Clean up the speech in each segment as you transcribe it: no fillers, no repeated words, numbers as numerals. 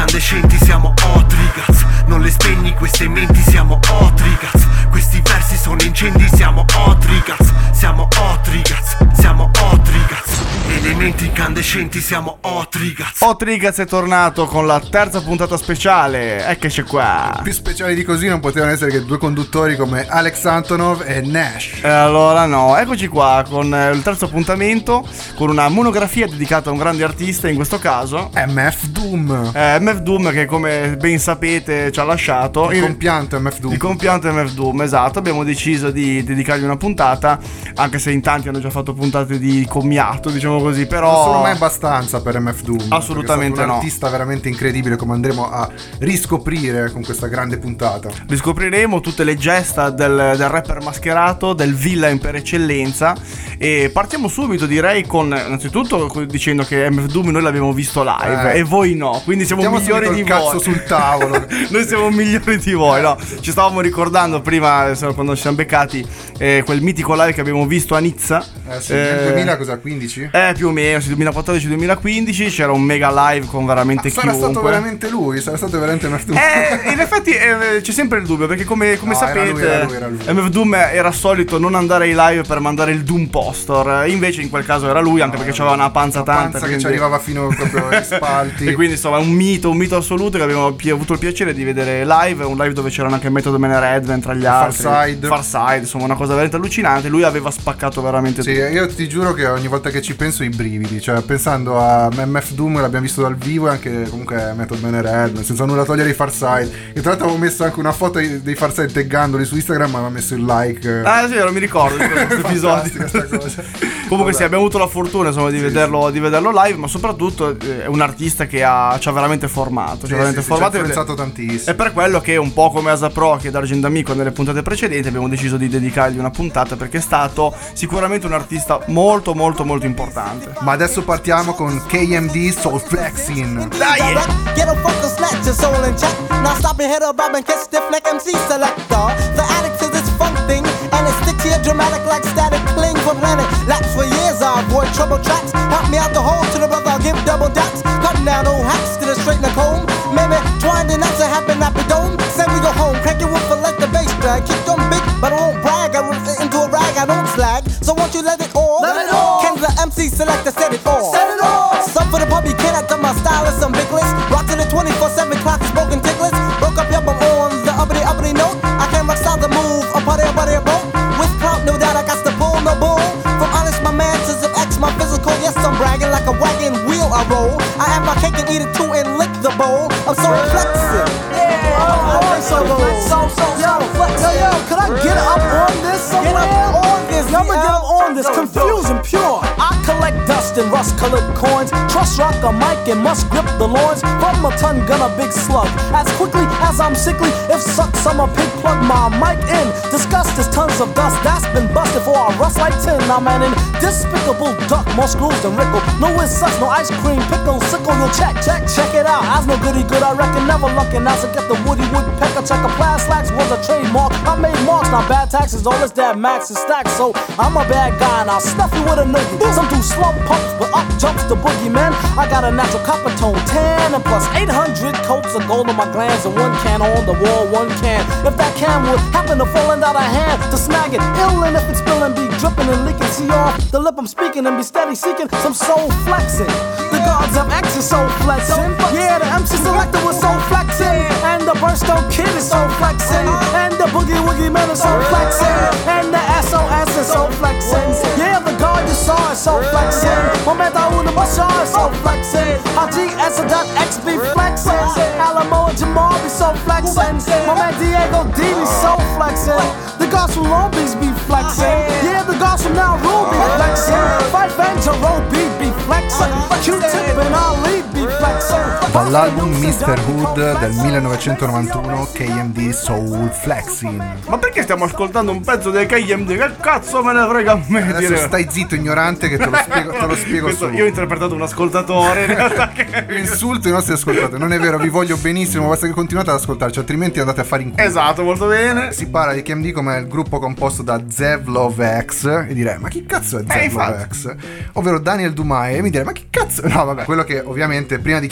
incandescenti, siamo Otrigaz. Non le spegni queste menti, siamo Otrigaz. Questi versi sono incendi, siamo Otrigaz. Siamo Otrigaz, siamo Otrigaz. Elementi incandescenti, siamo Otrigaz. Otrigaz è tornato con la terza puntata speciale. Eccoci qua. Più speciali di così non potevano essere che due conduttori come Alex Antonov e Nash. E allora no, eccoci qua con il terzo appuntamento, con una monografia dedicata a un grande artista, in questo caso MF Doom. MF Doom, che come ben sapete ci ha lasciato. Il compianto MF Doom. Il compianto MF Doom, esatto. Abbiamo deciso di dedicargli una puntata, anche se in tanti hanno già fatto puntate di commiato, diciamo così, però non sono mai abbastanza per MF Doom. Assolutamente è no. Un artista veramente incredibile, come andremo a riscoprire con questa grande puntata. Riscopriremo tutte le gesta del rapper mascherato, del villain per eccellenza. E partiamo subito, direi, con innanzitutto dicendo che MF Doom noi l'abbiamo visto live e voi no, quindi siamo migliori di voi. Cazzo sul tavolo. Noi siamo migliori di voi, no? Ci stavamo ricordando prima, quando ci siamo beccati, quel mitico live che abbiamo visto a Nizza. Sì, nel 2015? Più o meno, sì, 2014-2015 c'era un mega live con veramente chiunque. Sarà stato veramente lui, sarà stato veramente MF Doom. In effetti c'è sempre il dubbio, perché come sapete era lui. MF Doom era solito non andare ai live per mandare il Doom Poster, invece in quel caso era lui, anche perché aveva una panza tanta, che ci arrivava fino proprio ai spalti. E quindi insomma un mito assoluto che abbiamo avuto il piacere di vedere live, un live dove c'erano anche Method Man e Redman tra gli altri, Farside, insomma una cosa veramente allucinante. Lui aveva spaccato veramente tutto. Io ti giuro che ogni volta che ci penso i brividi, cioè pensando a MF Doom, l'abbiamo visto dal vivo, e anche comunque Method Man e Redman, senza nulla togliere i Farside. E tra l'altro avevo messo anche una foto dei Farside taggandoli su Instagram, ma aveva messo il like. Ah sì, non mi ricordo di questo episodio. Comunque sì, abbiamo avuto la fortuna insomma di vederlo live, ma soprattutto è un artista che ci ha veramente formato, ci ha pensato tantissimo. È per quello che un po' come Asapro che D'Argent Amico nelle puntate precedenti abbiamo deciso di dedicargli una puntata, perché è stato sicuramente un artista molto molto molto importante. Ma adesso partiamo con KMD Soul Flexing. Dai! Get a focus, snatch your soul in check. Now stop your head up, bob and catch stiff neck MC selector. The addict to this funk thing, and it sticks here dramatic like static. Cling for planet, laps for years. I avoid trouble tracks. Help me out the hole to the brother, I'll give double dots. Cutting down old hacks to the straighten the comb. Maybe twine the nuts and happen nappy dome. Say we go home, crank your whoop and let the bass drag. Keep them big, but I won't brag. I rip it into a rag, I don't slag. So won't you let it all? Let it all. Can the MC select the set it all? Set it all. Some for the pub, you cannot tell my style is some big list. Rock to the 24/7 clock, smoking ticklets. Broke up your bum on the uppity note. I can't rock style the move, a party boat. With clout, no doubt I got to pull no bull. From honest, my man, to some X, my physical. Yes, I'm bragging like a wagon wheel I roll. I have my cake and eat it too and lick the bowl. I'm so flexing. Yo, could I get up on this somewhere? Get up on this. I'ma get up on this. Confusion pure. I collect dust and rust-colored coins. Trust rock a mic and must grip the loins. From a ton gun a big slug. As quickly as I'm sickly, if sucks I'm a pig, plug my mic in. Disgust is tons of dust that's been busted for I rust like tin. I'm an despicable duck, more screws than Rickle. No it sucks, no ice cream, pickle, sickle. You'll check it out. As no goody good, I reckon never luckin'. As I get the woody woodpecker, check a plas slacks was a trademark. I made marks, not bad taxes. All this that max is stacked, so I'm a bad guy and I'll stuff you with a noogie. Some do slump pumps, but up jumps the boogeyman. I got a natural copper tone tan and plus 800 coats of gold on my glands and one can on the wall, one can. If that can would happen to falling out of hand, to snag it, ill and if it's spilling, be dripping and leaking. See off the lip I'm speaking and be steady seeking some soul flexing. The gods of X is soul flexing. Yeah, the MC selector was soul flexing, and the Burstone Kid is soul flexing, and the Boogie Woogie Man is soul flexing, and the SOS is soul flexing. Yeah, the God you saw is soul flexing. Momenta uno Bashar is soul flexing. GS.X be flexing. Alamo and Jamal be soul flexing. My man Diego D be soul flexing. The gods from Long Beach be flexing. Yeah, the gods from Now Rule be flexing. Fife and Jerome B be flexing. Q-Tip and Ali be flexing. Dall'album Mr. Hood del 1991, KMD Soul Flexing. Ma perché stiamo ascoltando un pezzo del KMD? Che cazzo me ne frega a me? Adesso stai zitto ignorante che te lo spiego Questo, solo. io ho interpretato un ascoltatore in realtà che... Insulto i nostri ascoltatori. Non è vero, vi voglio benissimo, basta che continuate ad ascoltarci, altrimenti andate a fare in culo. Esatto, molto bene. Si parla di KMD come il gruppo composto da Zev Love X. E direi, ma chi cazzo è Zev Love X? Ovvero Daniel Dumais. E mi direi, ma chi cazzo? No vabbè, quello che ovviamente prima di chiamarsi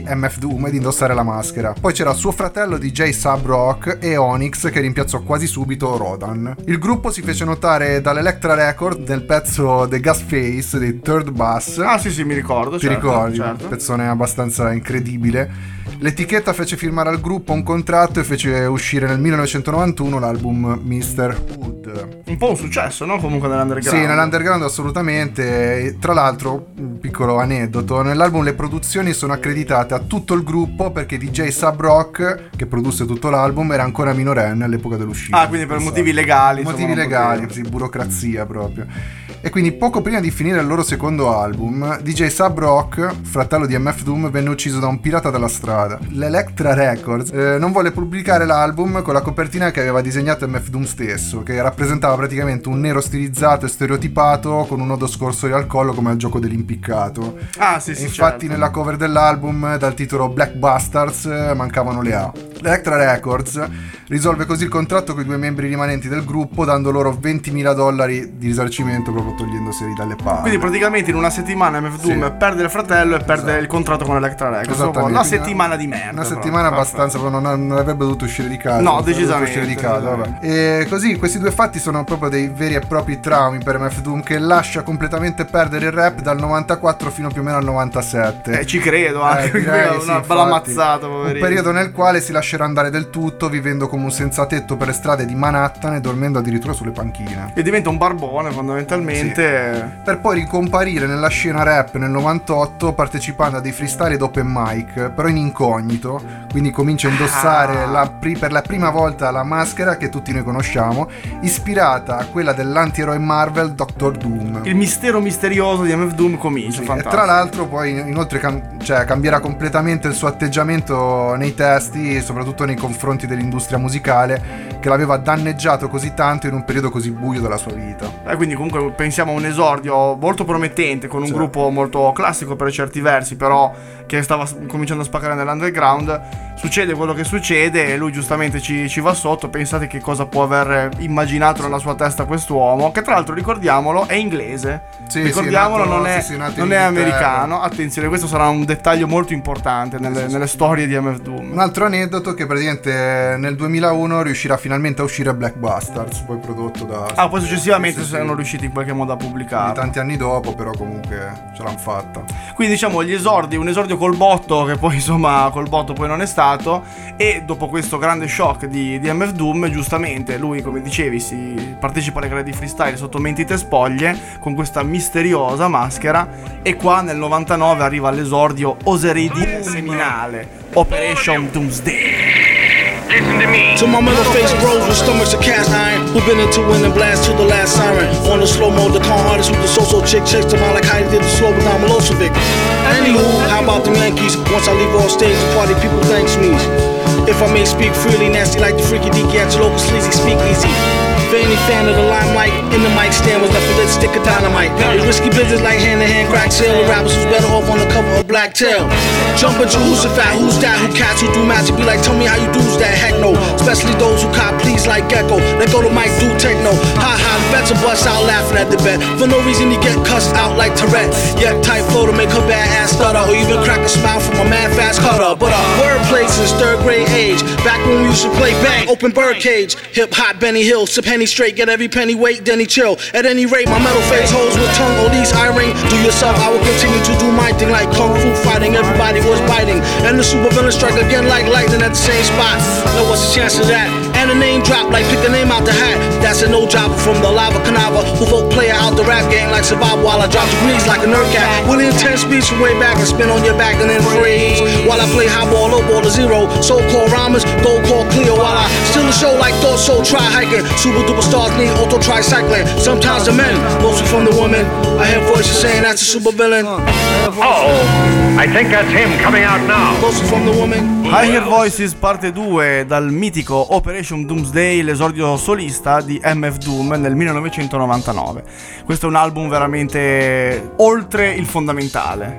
MF Doom ed indossare la maschera. Poi c'era suo fratello DJ Sub Rock e Onyx che rimpiazzò quasi subito Rodan. Il gruppo si fece notare dall'Electra Record del pezzo The Gas Face dei Third Bus. Ah sì, mi ricordo. Ti ricordi? Certo. Pezzone abbastanza incredibile. L'etichetta fece firmare al gruppo un contratto e fece uscire nel 1991 l'album Mr. Hood. Un po' un successo, no? Comunque nell'underground. Sì, nell'underground assolutamente. Tra l'altro, un piccolo aneddoto, nell'album le produzioni sono accreditate a tutto il gruppo perché DJ Sub Rock, che produsse tutto l'album, era ancora minorenne all'epoca dell'uscita. Ah, quindi per motivi legali. Motivi legali, sì, burocrazia proprio. E quindi poco prima di finire il loro secondo album, DJ Sub Rock, fratello di MF Doom, venne ucciso da un pirata della strada. L'Electra Records non volle pubblicare l'album con la copertina che aveva disegnato MF Doom stesso, che rappresentava praticamente un nero stilizzato e stereotipato con un nodo scorsoio al collo come al gioco dell'impiccato. Ah sì, e sì, infatti certo. Nella cover dell'album, dal titolo Black Bastards, mancavano le A. L'Electra Records risolve così il contratto con i due membri rimanenti del gruppo, dando loro $20.000 di risarcimento proprio togliendoseli dalle palle. Quindi praticamente in una settimana MF Doom perde il fratello e perde il contratto con Electra Records. Una settimana di merda. Una settimana abbastanza, non avrebbe dovuto uscire di casa. No, decisamente. Uscire di casa, vabbè. E così questi due fatti sono proprio dei veri e propri traumi per MF Doom, che lascia completamente perdere il rap dal 94 fino più o meno al 97. Ci credo anche, direi, una bella mazzata, poverino. Un periodo nel quale si lascerà andare del tutto, vivendo come un senza tetto per le strade di Manhattan e dormendo addirittura sulle panchine. E diventa un barbone fondamentalmente. Per poi ricomparire nella scena rap nel 98 partecipando a dei freestyle ed open mic, però in incognito, quindi comincia a indossare per la prima volta la maschera che tutti noi conosciamo, ispirata a quella dell'antieroe Marvel Doctor Doom. Il mistero misterioso di MF Doom comincia, e tra l'altro poi inoltre cambierà completamente il suo atteggiamento nei testi, soprattutto nei confronti dell'industria musicale che l'aveva danneggiato così tanto in un periodo così buio della sua vita. Quindi comunque pensiamo a un esordio molto promettente con un gruppo molto classico per certi versi, però che stava cominciando a spaccare nell'underground. Succede quello che succede e lui giustamente ci va sotto. Pensate che cosa può aver immaginato nella sua testa quest'uomo, che tra l'altro ricordiamolo è inglese. Ricordiamolo, non è americano. Attenzione, questo sarà un dettaglio molto importante nelle storie di MF Doom. Un altro aneddoto che praticamente nel 2001 riuscirà finalmente a uscire Black Bastards, poi prodotto da... poi successivamente sono riusciti in qualche modo a pubblicare. Tanti anni dopo, però comunque ce l'hanno fatta. Quindi diciamo un esordio col botto, che poi insomma col botto poi non è stato. E dopo questo grande shock di MF Doom, giustamente lui, come dicevi, si partecipa alle gare di freestyle sotto mentite spoglie con questa misteriosa maschera. E qua nel 99 arriva all'esordio, oserei dire seminale, Operation Doomsday. Listen to me. To my metal face bros with stomachs of cast iron, who been into winning blast to the last siren. On the slow mode, the con artist with the so-so chick chased them out like Heidi did the slow down Milosevic. Anywho, how about them Yankees? Once I leave off stage, the party people thanks me. If I may speak freely, nasty like the freaky D'Angelo, sleazy speakeasy. For any fan of the limelight, in the mic stand was nothing but stick of dynamite. It's risky business like hand-to-hand crack sale. The rappers who's better off on the cover of Black Tail. Jumping Jehoshaphat, who's that? Who cats who do magic? Be like, tell me how you do's that? Heck no. Especially those who cop please like Gecko. Let go to Mike, do techno. Ha ha, the vets will bust out laughing at the bet. For no reason you get cussed out like Tourette. Yeah, tight flow to make her bad ass stutter. Or even crack a smile from a mad fast cutter. But wordplay since third grade age. Back when we used to play bang, open birdcage. Hip hop, Benny Hill, sip Henny straight. Get every penny weight, then he chill. At any rate, my metal face holds with tongue. All these ring. Do yourself, I will continue to do my thing like kung fu fighting. Everybody was biting. And the super villain strike again like lightning at the same spot. Now what's the chance of that? And a name drop like pick a name out the hat. That's a no jobber from the lava canava who vote player out the rap game like survival while I drop degrees like a nerd cat. With intense speech from way back and spin on your back and then freeze. While I play high ball, low ball to zero. So-called rhymers, go call Cleo while I steal the show like Thought Soul try hiking. Super duper stars need auto tricycling. Sometimes the men, mostly from the women. I hear voices saying that's a super villain. Uh-oh, I think that's him coming out now. Mostly from the woman. I Hear Voices parte 2 dal mitico Operation Doomsday, l'esordio solista di MF Doom nel 1999. Questo è un album veramente oltre il fondamentale,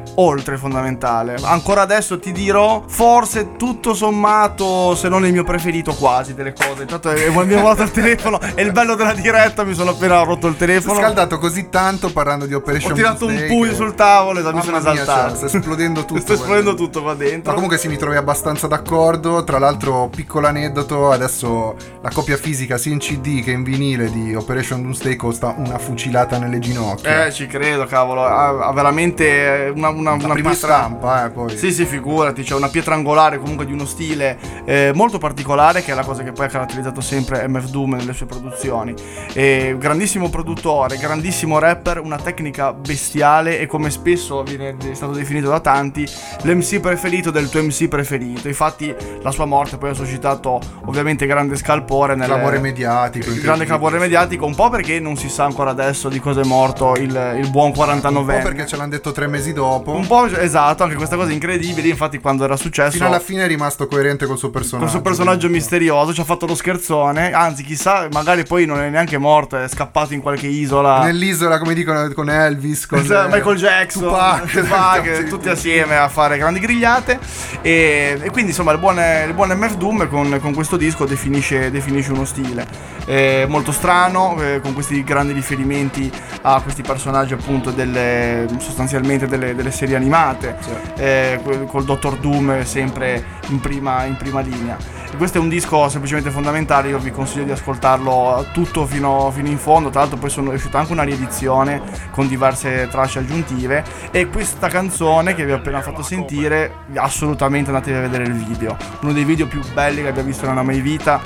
ancora adesso ti dirò, forse tutto sommato, se non il mio preferito quasi delle cose. Intanto abbiamo volato il telefono, è il bello della diretta, mi sono appena rotto il telefono. Ho scaldato così tanto parlando di Operation Doomsday. Ho tirato un pugno sul tavolo e mi sono esaltato. Sta esplodendo tutto. Sta esplodendo tutto qua dentro. Ma comunque mi trovi abbastanza d'accordo. Tra l'altro, piccolo aneddoto, adesso la copia fisica sia in CD che in vinile di Operation Doomsday costa una fucilata nelle ginocchia. Ci credo, cavolo. Ha veramente una prima pietra... stampa, poi. Sì, figurati, c'è una pietra angolare comunque di uno stile molto particolare, che è la cosa che poi ha caratterizzato sempre MF Doom nelle sue produzioni. Grandissimo produttore, grandissimo rapper, una tecnica bestiale e, come spesso è stato definito da tanti, l'MC preferito del tuo MC preferito. Infatti la sua morte poi ha suscitato ovviamente grande scalpore clamore mediatico, grande clamore mediatico, un po' perché non si sa ancora adesso di cosa è morto il buon 49enne, un po' perché ce l'hanno detto 3 mesi dopo, un po', esatto, anche questa cosa incredibile. Infatti quando era successo, fino alla fine è rimasto coerente col suo personaggio, misterioso, ci ha fatto lo scherzone, anzi chissà, magari poi non è neanche morto, è scappato in qualche isola, nell'isola, come dicono, con Elvis, con Michael Jackson, Tupac, tutti assieme a fare grandi grigliate. E quindi insomma il buon MF Doom con questo disco definisce uno stile molto strano, con questi grandi riferimenti a questi personaggi appunto sostanzialmente delle serie animate, col Dottor Doom sempre in prima linea. E questo è un disco semplicemente fondamentale, io vi consiglio di ascoltarlo tutto fino in fondo. Tra l'altro poi è uscita anche una riedizione con diverse tracce aggiuntive, e questa canzone che vi ho appena fatto sentire, assolutamente andatevi a vedere il video, uno dei video più belli che abbia visto nella mai vita.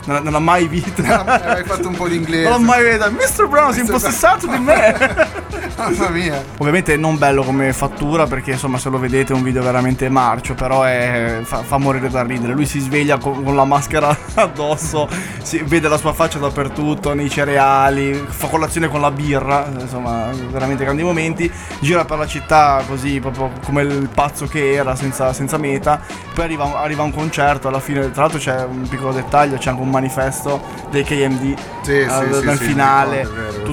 Hai fatto un po' di inglese. Non l'ho mai visto. Mr. Brown si è impossessato di me. Mamma mia. Ovviamente non bello come fattura, perché insomma se lo vedete è un video veramente marcio, però fa morire da ridere. Lui si sveglia con la maschera addosso, si vede la sua faccia dappertutto, nei cereali, fa colazione con la birra, insomma veramente grandi momenti. Gira per la città così, proprio come il pazzo che era, senza meta. Poi arriva un concerto, alla fine tra l'altro c'è un piccolo dettaglio, c'è anche un manifesto dei KMD nel finale,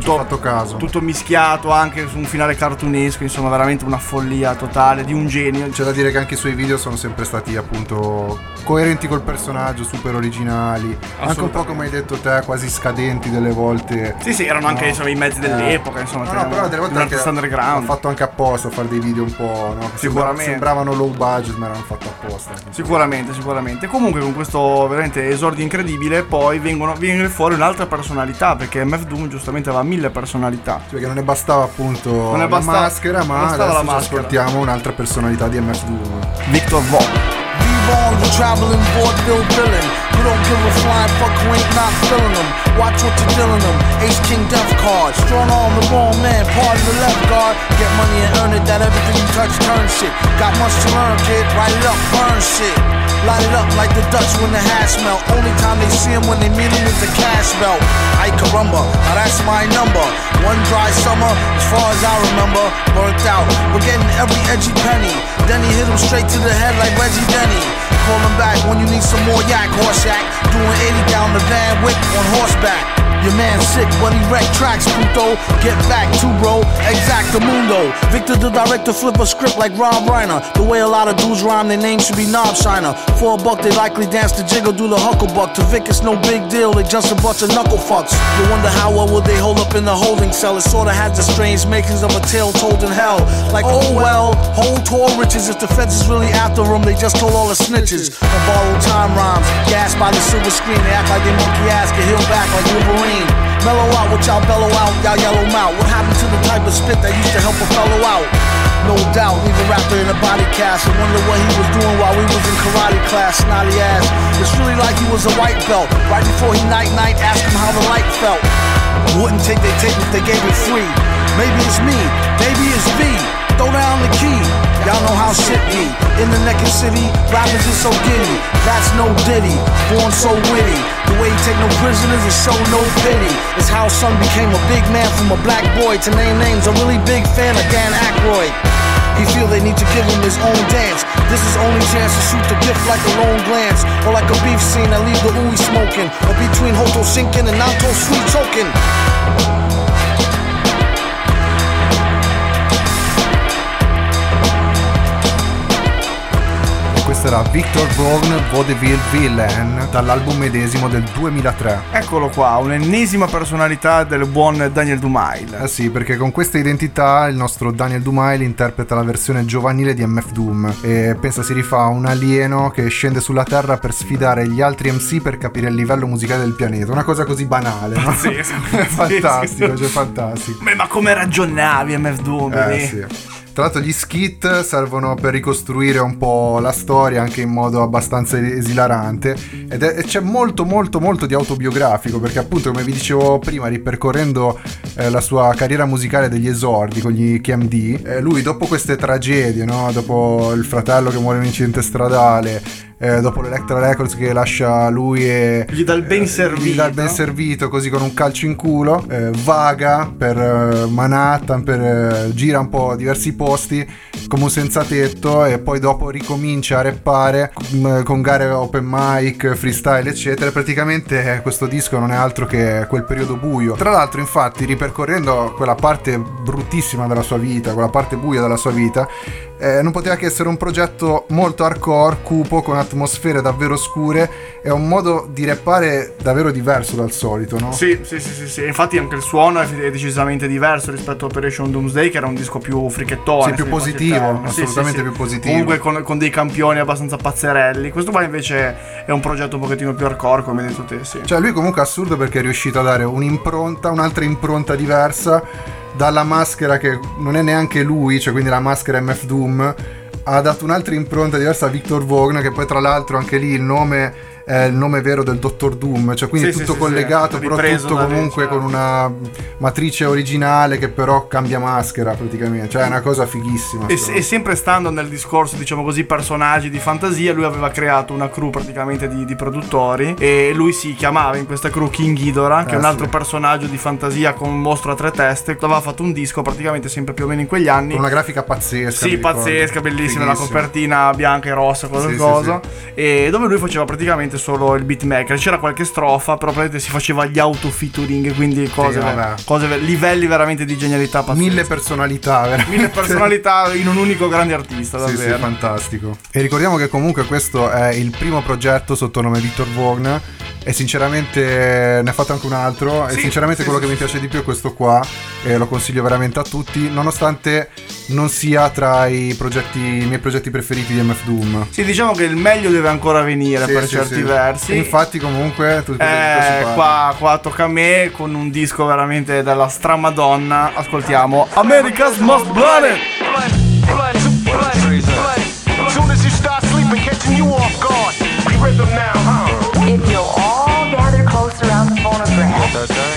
tutto mischiato anche su un finale cartunesco, insomma veramente una follia totale di un genio. C'è da dire che anche i suoi video sono sempre stati appunto coerenti col personaggio, super originali, anche un po' come hai detto te, quasi scadenti delle volte. Sì, erano anche insomma i mezzi dell'epoca, insomma. Però delle volte anche underground. Hanno fatto anche apposta a fare dei video un po', no? Sicuramente sembravano low budget, ma erano fatti apposta. Sicuramente. Comunque con questo veramente esordio incredibile poi viene fuori un'altra personalità, perché MF Doom giustamente aveva 1000 personalità. Perché non ne bastava appunto la maschera, ma adesso ascoltiamo un'altra personalità di MF Doom, Victor Vaughn. Long, you traveling vaudeville villain. You don't give a flying fuck who ain't not feeling them. Watch what you're dealing them. Ace King Death card. Strong arm, the wrong man, part of the left guard. Get money and earn it, that everything you touch turn shit. Got much to learn, kid. Write it up, burn shit. Light it up like the Dutch when the hash melt. Only time they see him when they meet him is the cash belt. Ay caramba, now that's my number. One dry summer, as far as I remember, burnt out. We're getting every edgy penny. Then he hit him straight to the head like Reggie Denny. Call him back when you need some more yak, horse yak. Doing 80 down the Van Wick on horseback. Your man sick, but he wrecked tracks, puto. Get back to bro, exactamundo. Victor the director flip a script like Rob Reiner. The way a lot of dudes rhyme, their name should be Knob Shiner. For a buck, they likely dance the jiggle, do the hucklebuck. To Vic, it's no big deal, they just a bunch of knuckle fucks. You wonder how well would they hold up in the holding cell. It sorta has the strange makings of a tale told in hell. Like, oh well, hold tall riches. If the feds is really after them, they just told all the snitches. And borrowed time rhymes, gassed by the silver screen. They act like they monkey ass, get healed back like Wolverine. Mellow out, what y'all bellow out, y'all yellow mouth. What happened to the type of spit that used to help a fellow out? No doubt, leave a rapper in a body cast. I wonder what he was doing while we was in karate class, snotty ass. It's really like he was a white belt. Right before he night, ask him how the light felt. Wouldn't take their tape if they gave it free. Maybe it's me, maybe it's V. Throw down the key, y'all know how shit be. In the naked city, rappers is so giddy. That's no Diddy, born so witty. The way he take no prisoners and show no pity. It's how son became a big man from a black boy. To name names, a really big fan of Dan Aykroyd. He feel they need to give him his own dance. This is only chance to shoot the gift like a lone glance, or like a beef scene that leave the ooey smoking, or between Hoto sinking and Nanto sweet choking. Questo era Victor Vaughn, Vaudeville Villain, dall'album medesimo del 2003. Eccolo qua, un'ennesima personalità del buon Daniel Dumail. Sì, perché con questa identità il nostro Daniel Dumail interpreta la versione giovanile di MF Doom e pensa si rifà a un alieno che scende sulla Terra per sfidare gli altri MC per capire il livello musicale del pianeta. Una cosa così banale, no? Pazzesco. Fantastico, cioè fantastico. Ma come ragionavi MF Doom? Sì. Tra l'altro gli skit servono per ricostruire un po' la storia anche in modo abbastanza esilarante e c'è molto di autobiografico, perché appunto, come vi dicevo prima, ripercorrendo la sua carriera musicale degli esordi con gli KMD, lui dopo queste tragedie, no? Dopo il fratello che muore in un incidente stradale, dopo l'Electra Records che lascia lui e gli dà il ben servito, così con un calcio in culo, vaga per Manhattan, gira un po' diversi posti come un senza tetto e poi dopo ricomincia a rappare con gare open mic, freestyle eccetera. Praticamente questo disco non è altro che quel periodo buio. Tra l'altro, infatti, ripercorrendo quella parte bruttissima della sua vita, quella parte buia della sua vita, non poteva che essere un progetto molto hardcore, cupo, con atmosfere davvero scure e un modo di rappare davvero diverso dal solito, no? Sì. Infatti anche il suono è decisamente diverso rispetto a Operation Doomsday, che era un disco più frichettone. Sì, più positivo, assolutamente più positivo. Comunque con dei campioni abbastanza pazzerelli. Questo qua invece è un progetto un pochettino più hardcore, come hai detto te, sì. Cioè lui comunque è assurdo perché è riuscito a dare un'altra impronta diversa dalla maschera che non è neanche lui, cioè quindi la maschera MF Doom, ha dato un'altra impronta diversa a Victor Vaughn, che poi tra l'altro anche lì il nome è il nome vero del Dottor Doom, cioè quindi tutto collegato, però tutto comunque con una matrice originale che però cambia maschera praticamente, cioè è una cosa fighissima. E sempre stando nel discorso, diciamo così, personaggi di fantasia, lui aveva creato una crew praticamente di produttori e lui si chiamava in questa crew King Ghidorah, che è un altro personaggio di fantasia con un mostro a 3 teste. Aveva fatto un disco praticamente sempre più o meno in quegli anni, con una grafica pazzesca. Sì, pazzesca, bellissima, la copertina bianca e rossa, qualcosa, e dove lui faceva praticamente solo il beatmaker. C'era qualche strofa, però praticamente si faceva gli auto featuring, quindi cose livelli veramente di genialità pazzeschi. 1000 personalità, veramente. 1000 personalità in un unico grande artista, davvero. Sì, fantastico. E ricordiamo che comunque questo è il primo progetto sotto nome Victor Vaughn e sinceramente ne ha fatto anche un altro, e sinceramente quello che mi piace di più è questo qua e lo consiglio veramente a tutti, nonostante non sia tra i miei progetti preferiti di MF Doom. Sì, diciamo che il meglio deve ancora venire per certi versi. E infatti comunque qua tocca a me con un disco veramente della stramadonna. Ascoltiamo America's Most Blunted. Soon as you start sleeping, catching you off guard. Rhythm now, huh? If you'll all gather close around the phonograph.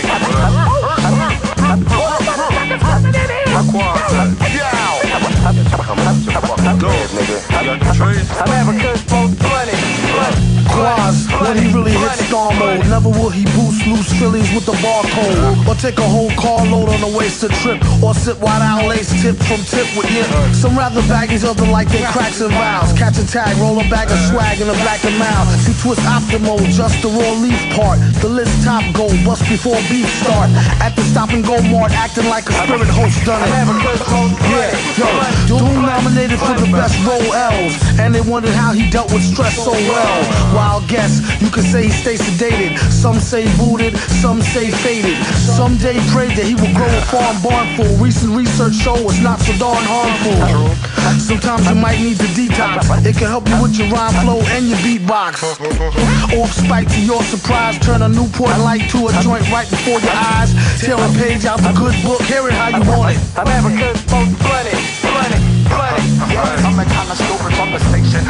America's most bloody. Quaz, when he really hits star mode, never will he boost loose Phillies with the barcode, or take a whole carload on a wasted trip, or sit wide out lace tip from tip with nip. Some rather baggies, other like they cracks and vows. Catch a tag, roll a bag of swag in a black and mouth. You twist optimo, just the raw leaf part. The list top gold, bust before beef start. At the stop and go mart, acting like a spirit host done it. Yeah, yo, Doom nominated for the best role L's, and they wondered how he dealt with stress so well. Wild guess, you could say he stays sedated. Some say booted, some say faded. Someday prayed that he would grow a farm barn full. Recent research show it's not so darn harmful. Sometimes you might need the detox. It can help you with your rhyme flow and your beatbox. Off spike to your surprise, turn a Newport light to a joint right before your eyes. Tear a page out the good book, hear it how you want it. America's most bloody. I'm the kind of stupid from the station.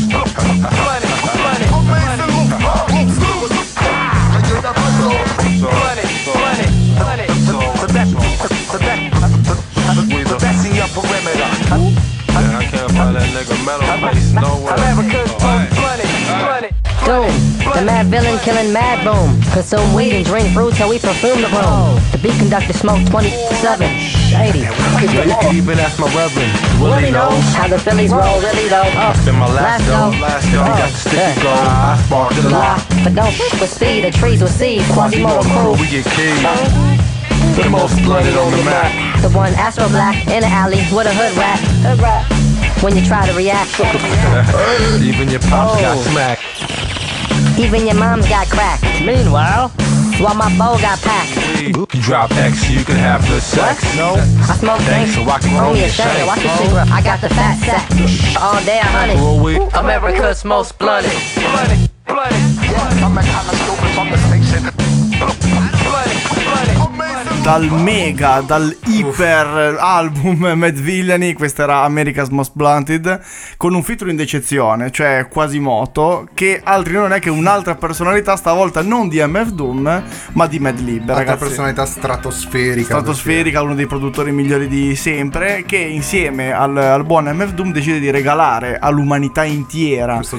The best in your perimeter. I can't find that nigga metal face nowhere. America's most bloody. Doom, the that villain killing mad boom. Consume weed and drink brew till we perfume the room. The beat conductor smoke 27, 80. You can even ask my reverend. Willie knows how the Phillies roll, really though. Been my last go. Last go. Got the sticky gold. I sparked the lot. But don't fuck with speed, the trees will see. Quasimodo crew. We get killed. The most blooded on the map. The one Astro Black in the alley with a hood rat. When you try to react. Even your pops got smacked. Even your mom's got cracked. Meanwhile, while my bow got packed. You drop X, you can have the sex. No, I smoke thanks, so I can roll me your a shame. shank. Watch your cigarette. I got the fat sack. All day I hunt it. America's most blooded. Bloody. I'm a kind of stupid from the station. Dal mega, dal iper album Mad Villainy, questa era America's Most Blunted, con un featuring d'eccezione, cioè Quasimodo, che altri non è che un'altra personalità, stavolta non di MF Doom, ma di Mad Lib, Altra ragazzi. personalità stratosferica, uno dei produttori migliori di sempre, che insieme al buon MF Doom decide di regalare all'umanità intera questo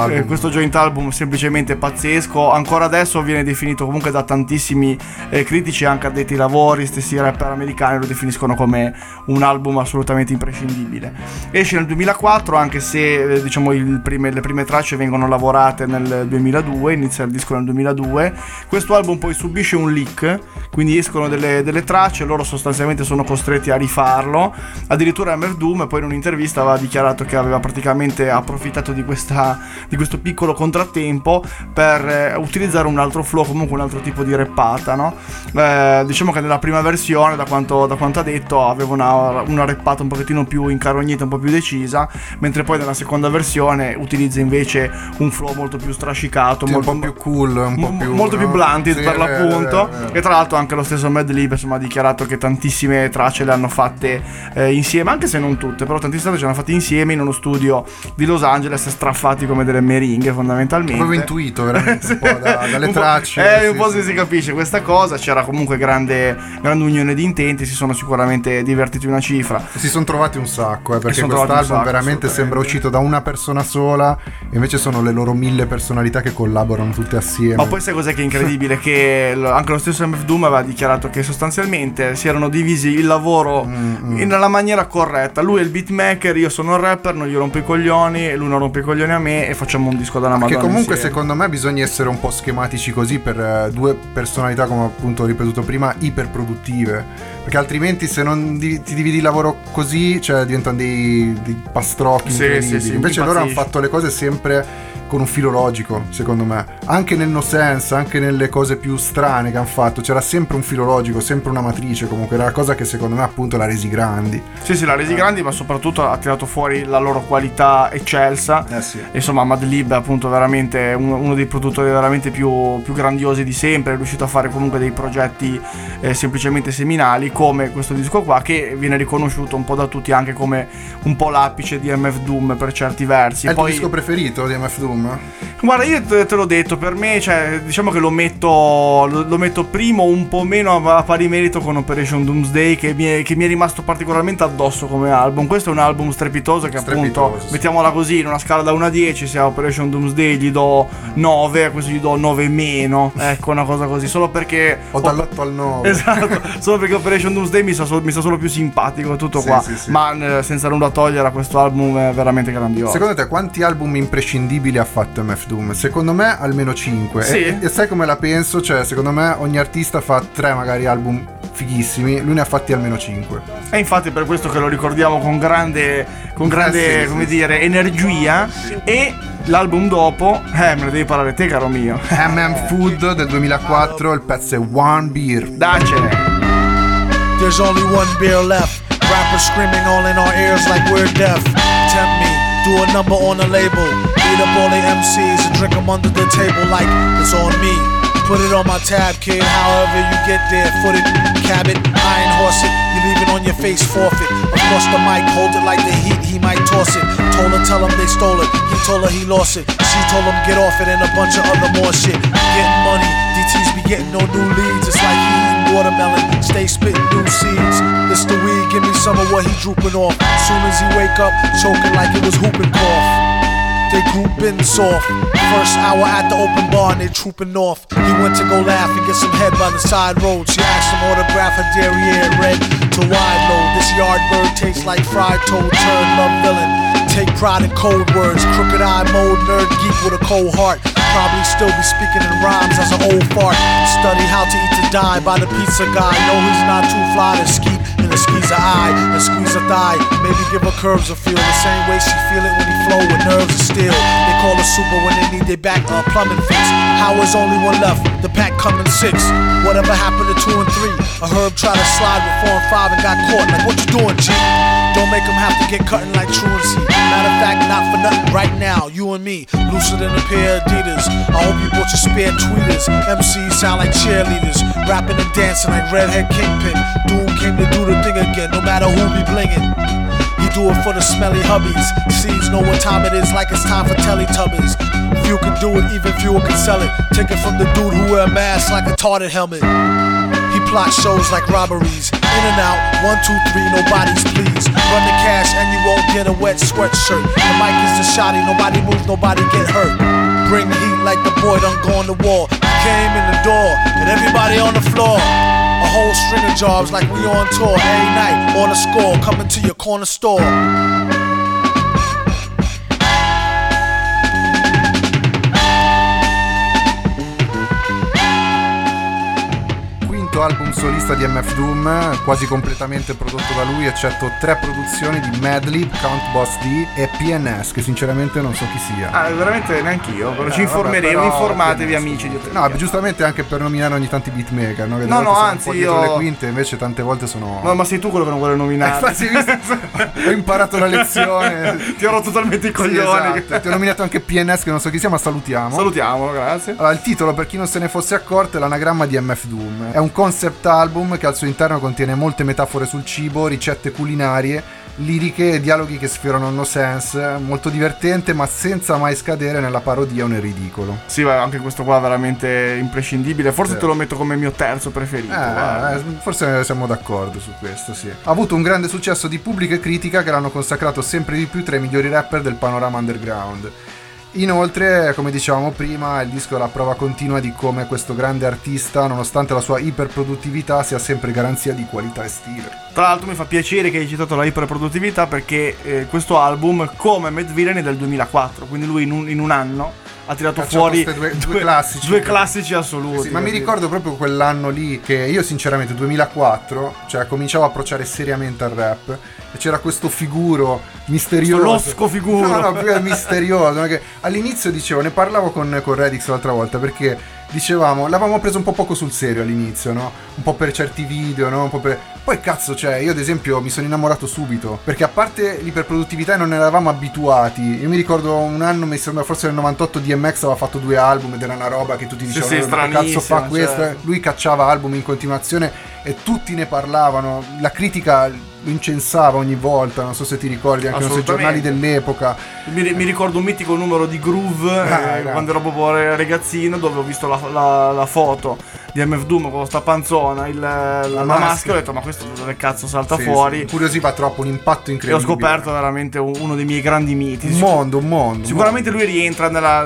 joint album semplicemente pazzesco. Ancora adesso viene definito comunque da tantissimi critici, anche addetti ai lavori, stessi rapper americani lo definiscono come un album assolutamente imprescindibile. Esce nel 2004, anche se diciamo le prime tracce vengono lavorate nel 2002, inizia il disco nel 2002. Questo album poi subisce un leak, quindi escono delle tracce, loro sostanzialmente sono costretti a rifarlo. Addirittura MF Doom poi in un'intervista aveva dichiarato che aveva praticamente approfittato di questo piccolo contrattempo per utilizzare un altro flow, comunque un altro tipo di rappata, no? Diciamo che nella prima versione, da quanto ha detto, aveva una rappata un pochettino più incarognita, un po' più decisa, mentre poi nella seconda versione utilizza invece un flow molto più strascicato, un po' più cool, molto più blunted, sì, per l'appunto. E tra l'altro anche lo stesso Mad Lib ha dichiarato che tantissime tracce le hanno fatte insieme, anche se non tutte, però tantissime tracce le hanno fatte insieme in uno studio di Los Angeles, straffati come delle meringhe fondamentalmente. Avevo intuito veramente un po' dalle tracce. Un po' si capisce questa cosa. C'era comunque grande unione di intenti, si sono sicuramente divertiti una cifra. Si sono trovati un sacco, perché quest'album veramente sembra uscito da una persona sola, e invece sono le loro 1000 personalità che collaborano tutte assieme. Ma poi sai cos'è che è incredibile? Che anche lo stesso MF Doom aveva dichiarato che sostanzialmente si erano divisi il lavoro nella maniera corretta. Lui è il beatmaker, io sono il rapper, non gli rompo i coglioni, e lui non rompe i coglioni a me, e facciamo un disco dalla Madonna. Che comunque insieme. Secondo me bisogna essere un po' schematici così per due personalità, come appunto ho ripetuto prima, iperproduttive, perché altrimenti se non ti dividi il lavoro così, cioè diventano dei pastrocchi incredibili. Sì, invece loro hanno fatto le cose sempre con un filo logico, secondo me, anche nel no sense, anche nelle cose più strane che hanno fatto c'era sempre un filo logico, sempre una matrice. Comunque era la cosa che secondo me appunto l'ha resi grandi. Sì, l'ha resi grandi, ma soprattutto ha tirato fuori la loro qualità eccelsa. Sì. Insomma, Mad Lib è appunto veramente uno dei produttori veramente più grandiosi di sempre, è riuscito a fare comunque dei progetti semplicemente seminali, come questo disco qua, che viene riconosciuto un po' da tutti anche come un po' l'apice di MF Doom per certi versi. È il tuo disco preferito di MF Doom? Guarda, io te l'ho detto, per me, cioè, diciamo che lo metto primo, un po' meno a pari merito con Operation Doomsday, che mi è rimasto particolarmente addosso come album. Questo è un album strepitoso che appunto, mettiamola così, in una scala da 1 a 10, se a Operation Doomsday gli do 9, a questo gli do 9 meno, ecco, una cosa così, solo perché ho dall'8 al 9. Esatto, solo perché Operation Doomsday mi sta solo più simpatico, tutto qua. Sì. Ma senza nulla togliere a questo album, è veramente grandioso. Secondo te quanti album imprescindibili ha fatto MF Doom? Secondo me almeno 5. Sì. E sai come la penso? Cioè, secondo me ogni artista fa 3 magari album fighissimi, lui ne ha fatti almeno 5. E infatti per questo che lo ricordiamo con grande come dire, energia. E l'album dopo, me lo devi parlare te, caro mio. Food del 2004, il pezzo è One Beer. Dacene. There's only one beer left. Rappers screaming all in our ears like we're deaf. Tempt me, do a number on a label. Beat up all the MCs and drink them under the table like it's on me. Put it on my tab, kid, however you get there. Foot it, cab it, iron horse it. You leave it on your face, forfeit. Across the mic, hold it like the heat, he might toss it. Told her, tell him they stole it. He told her he lost it. She told him get off it and a bunch of other more shit. Getting money, DTs be getting no new leads. It's like he eating watermelon, stay spitting new seeds. This the weed, give me some of what he drooping off. Soon as he wake up, choking like it was whooping cough. They grouping soft, First hour at the open bar and they trooping north. He went to go laugh and get some head by the side road. She asked him autograph her derriere red to wide load. This yard bird tastes like fried toad, turd, love villain. Take pride in cold words, crooked eye mode, nerd geek with a cold heart. Probably still be speaking in rhymes as an old fart. Study how to eat to die by the pizza guy. No, he's not too fly to skeet in a squeeze a eye, and squeeze a thigh. Maybe give her curves a feel the same way she feel it when he flow with nerves of steel. They call her super when they need their back plumbing fix. Howard's only one left, the pack coming 6. Whatever happened to 2 and 3? A herb tried to slide with 4 and 5 and got caught. Like, what you doing, G? Don't make him have to get cutting like truancy. Matter of fact, not for nothing right now, you and me, looser than a pair of Adidas. I hope you bought your spare tweeters. MCs sound like cheerleaders, rapping and dancing like Redhead Kingpin. Doom came to do the thing again, no matter who be blingin'. He do it for the smelly hubbies. Seeds know what time it is, like it's time for Teletubbies. Few can do it, even fewer can sell it. Take it from the dude who wear a mask like a tarted helmet. He plot shows like robberies. In and out, 1, 2, 3, nobody's please. Run the cash and you won't get a wet sweatshirt. The mic is the shotty, nobody moves, nobody get hurt. Bring heat like the boy done go on the wall. He came in the door and everybody on the floor. A whole string of jobs like we on tour. Every night, on the score, coming to your corner store. Album solista di MF Doom, quasi completamente prodotto da lui, eccetto 3 produzioni di Madlib, Count Boss D e PNS, che sinceramente non so chi sia. Veramente neanch'io, però ci informeremo, informatevi amici di No, giusto per nominare ogni tanto i beatmaker, no? Che no, anzi io... le quinte, invece tante volte sono... No, ma sei tu quello che non vuole nominare. Ho imparato la lezione. Ti ho rotto totalmente i coglioni. Sì, esatto. Ti ho nominato anche PNS, che non so chi sia, ma salutiamo. Salutiamolo, grazie. Allora, il titolo, per chi non se ne fosse accorto, è l'anagramma di MF Doom. È un concept album che al suo interno contiene molte metafore sul cibo, ricette culinarie, liriche e dialoghi che sfiorano no sense, molto divertente ma senza mai scadere nella parodia o nel ridicolo. Sì, anche questo qua è veramente imprescindibile, forse te lo metto come mio terzo preferito. Forse siamo d'accordo su questo, sì. Ha avuto un grande successo di pubblico e critica che l'hanno consacrato sempre di più tra i migliori rapper del panorama underground. Inoltre, come dicevamo prima, il disco è la prova continua di come questo grande artista, nonostante la sua iperproduttività, sia sempre garanzia di qualità e stile. Tra l'altro mi fa piacere che hai citato la iperproduttività, perché questo album, come Mad Villain, è del 2004, quindi lui in un anno ha tirato fuori due classici assoluti. Sì, ma mi ricordo proprio quell'anno lì che io sinceramente 2004, cioè cominciavo a approcciare seriamente al rap e c'era questo figuro misterioso, losco figuro, no, misterioso, che all'inizio dicevo, ne parlavo con Redix l'altra volta, perché dicevamo, l'avevamo preso un po' poco sul serio all'inizio, no? Un po' per certi video, no? Un po' per... Poi cazzo, cioè, io ad esempio mi sono innamorato subito, perché a parte l'iperproduttività non eravamo abituati. Io mi ricordo un anno, mi sembra forse nel 98, DMX aveva fatto 2 album ed era una roba che tutti dicevano, che cazzo fa questo? Cioè... Lui cacciava album in continuazione e tutti ne parlavano, la critica lo incensava ogni volta, non so se ti ricordi, anche sui giornali dell'epoca. Mi ricordo un mitico numero di Groove quando ero proprio ragazzino, dove ho visto la foto di MF Doom con sta panzona, la maschera, ho detto ma questo dove cazzo salta fuori? Incuriosiva troppo, un impatto incredibile. E ho scoperto veramente uno dei miei grandi miti. Un mondo. Sicuramente lui rientra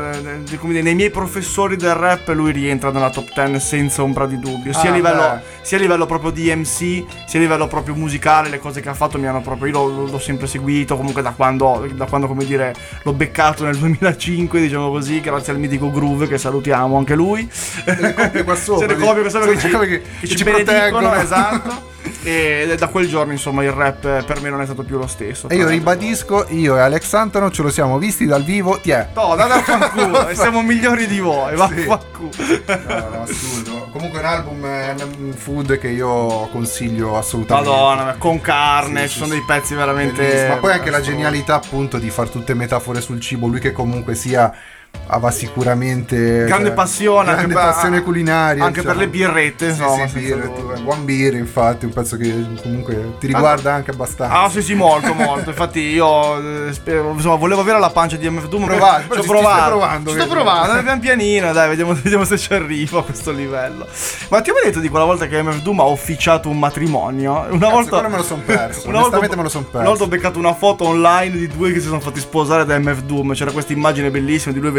nei miei professori del rap, lui rientra nella top 10 senza ombra di dubbio, sia a livello proprio di MC, sia a livello proprio musicale. Le cose che ha fatto mi hanno proprio, io l'ho sempre seguito comunque da quando come dire l'ho beccato nel 2005, diciamo così, grazie al mitico Groove, che salutiamo anche lui. Le copie qua sopra, le copie qua sopra che ci benedicono, esatto. E da quel giorno insomma il rap per me non è stato più lo stesso. E io ribadisco, io e Alex Santano ce lo siamo visti dal vivo. No, da fanculo, e siamo migliori di voi, vaffanculo. No, assurdo. Comunque un album, un food che io consiglio assolutamente. Madonna, con carne, ci sono dei pezzi veramente bellissimo. Ma poi anche la genialità appunto di far tutte metafore sul cibo, lui che comunque sia aveva sicuramente grande passione culinaria, anche per le birrette, insomma. Buon beer, infatti, un pezzo che comunque ti riguarda anche abbastanza. Sì, molto. Infatti io insomma volevo avere la pancia di MF Doom, sto provando pian pianino, dai, vediamo se ci arrivo a questo livello. Ma ti ho mai detto di quella volta che MF Doom ha officiato un matrimonio? Una volta me lo son perso. Onestamente me lo son perso. Una volta ho beccato una foto online di 2 che si sono fatti sposare da MF Doom. C'era questa immagine bellissima di lui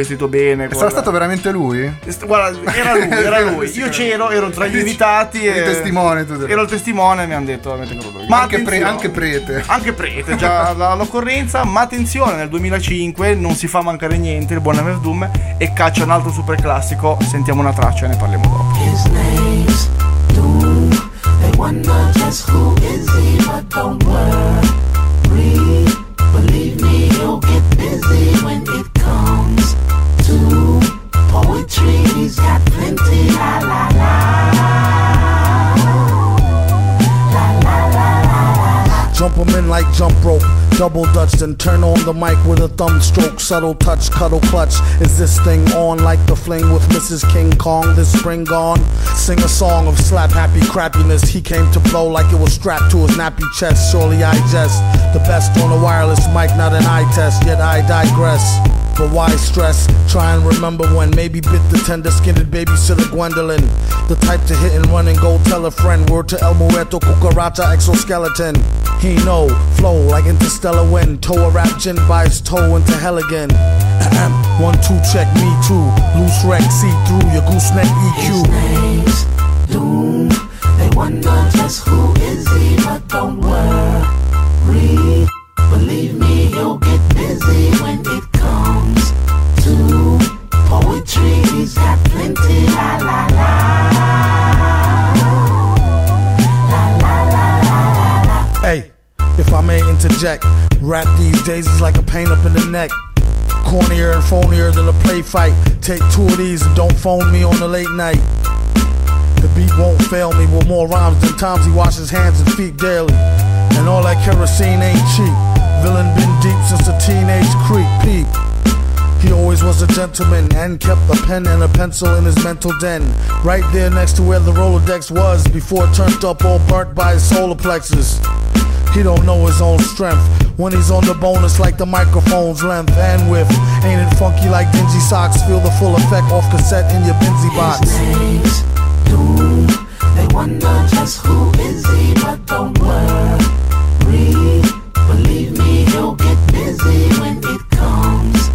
vestito bene. Sarà stato veramente lui? Guarda, era lui. Io c'ero, ero tra gli invitati. Il testimone. Ero il testimone e mi hanno detto avete creduto. Ma anche prete. Anche prete, già all'occorrenza. Ma attenzione, nel 2005 non si fa mancare niente il buon MF Doom e caccia un altro super classico. Sentiamo una traccia e ne parliamo dopo. His name's Doom. They wonder just who is he, but don't worry. Believe me, he'll get busy when it comes to poetry. He's got plenty. La la la. La la la la. Jump 'em in like jump rope, double dutch, then turn on the mic with a thumb stroke, subtle touch, cuddle clutch. Is this thing on like the fling with Mrs. King Kong this spring gone? Sing a song of slap happy crappiness. He came to blow like it was strapped to his nappy chest. Surely I jest the best on a wireless mic, not an eye test, yet I digress. But why stress? Try and remember when maybe bit the tender-skinned babysitter Gwendolyn. The type to hit and run and go tell a friend. Word to El Muerto, cucaracha, exoskeleton. He know, flow like interstellar wind. Toe a rap gin by his toe into hell again. 1, 2, check, me too. Loose wreck, see through your gooseneck EQ. His name's Doom. They wonder just who is he, but don't worry. Believe me, he'll get busy when it comes to poetry. He's got plenty. La la la. La la la la la. Hey, if I may interject, rap these days is like a pain up in the neck. Cornier and phonier than a play fight. Take 2 of these and don't phone me on the late night. The beat won't fail me with more rhymes than times he washes hands and feet daily. And all that kerosene ain't cheap. Villain been deep since a teenage creep peep. He always was a gentleman and kept a pen and a pencil in his mental den. Right there next to where the Rolodex was before it turned up all burnt by his solar plexus. He don't know his own strength. When he's on the bonus like the microphone's length and width. Ain't it funky like dingy socks? Feel the full effect off cassette in your Benzie box. His name's Doom. They wonder just who is he, but don't worry. Believe me, he'll get busy when it comes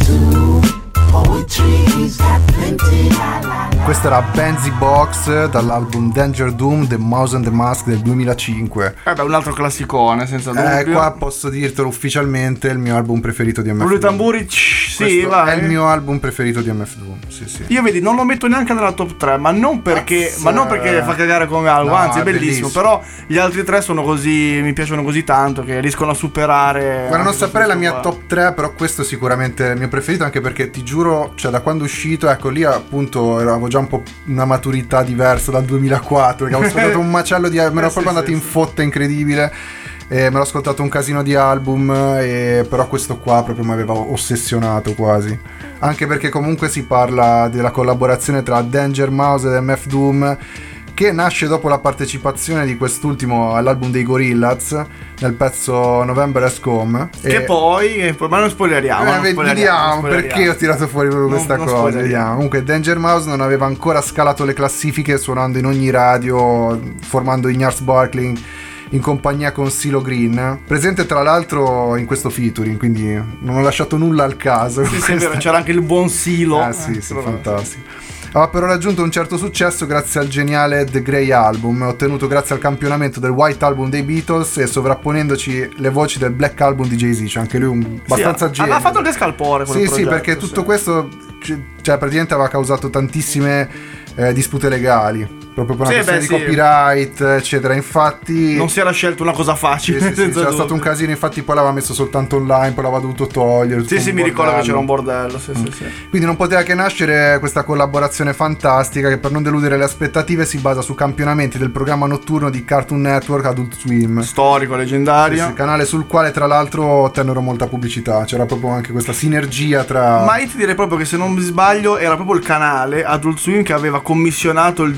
to poetry. He's got plenty. La la la. Questa era Benzie Box dall'album Danger Doom, The Mouse and the Mask del 2005. Beh, un altro classicone, senza dubbio. Qua posso dirtelo ufficialmente, il mio album preferito di MF Rullo Doom. i tamburi, sì, vai. È il mio album preferito di MF Doom, sì. Io vedi, non lo metto neanche nella top 3, ma non perché fa cagare come album, No, anzi è è bellissimo, bellissimo. però gli altri 3 sono così, mi piacciono così tanto che riescono a superare. Guarda, non saprei la mia qua. top 3, però questo è sicuramente il mio preferito, anche perché ti giuro, cioè da quando è uscito, ecco lì appunto avevo già un po' una maturità diversa dal 2004, perché avevo ascoltato un macello di... me ero proprio andato in fotta incredibile. Me l'ho ascoltato un casino di album, però questo qua proprio mi aveva ossessionato quasi. Anche perché comunque si parla della collaborazione tra Danger Mouse ed MF Doom, che nasce dopo la partecipazione di quest'ultimo all'album dei Gorillaz nel pezzo November Has Come. Che poi, ma non spoileriamo. Vediamo perché ho tirato fuori proprio questa cosa. Vediamo. Comunque Danger Mouse non aveva ancora scalato le classifiche, suonando in ogni radio, formando Ignar's Barkling in compagnia con CeeLo Green, presente tra l'altro in questo featuring, quindi non ho lasciato nulla al caso. Sì, è vero, c'era anche il buon CeeLo. Sì, fantastico. Ha però raggiunto un certo successo grazie al geniale The Grey Album, ottenuto grazie al campionamento del White Album dei Beatles e sovrapponendoci le voci del Black Album di Jay-Z. C'è anche lui abbastanza genio. Ha fatto anche scalpore quel progetto, sì, perché tutto questo cioè praticamente aveva causato tantissime dispute legali, proprio per una questione di copyright, eccetera. Infatti non si era scelto una cosa facile. C'era stato un casino, infatti poi l'aveva messo soltanto online, poi l'aveva dovuto togliere. Sì, mi ricordo che c'era un bordello. Sì. Quindi non poteva che nascere questa collaborazione fantastica che, per non deludere le aspettative, si basa su campionamenti del programma notturno di Cartoon Network Adult Swim, storico, leggendario, sì, canale sul quale tra l'altro ottennero molta pubblicità. C'era proprio anche questa sinergia tra... Ma io ti direi proprio che, se non mi sbaglio, era proprio il canale Adult Swim che aveva commissionato il disco a loro,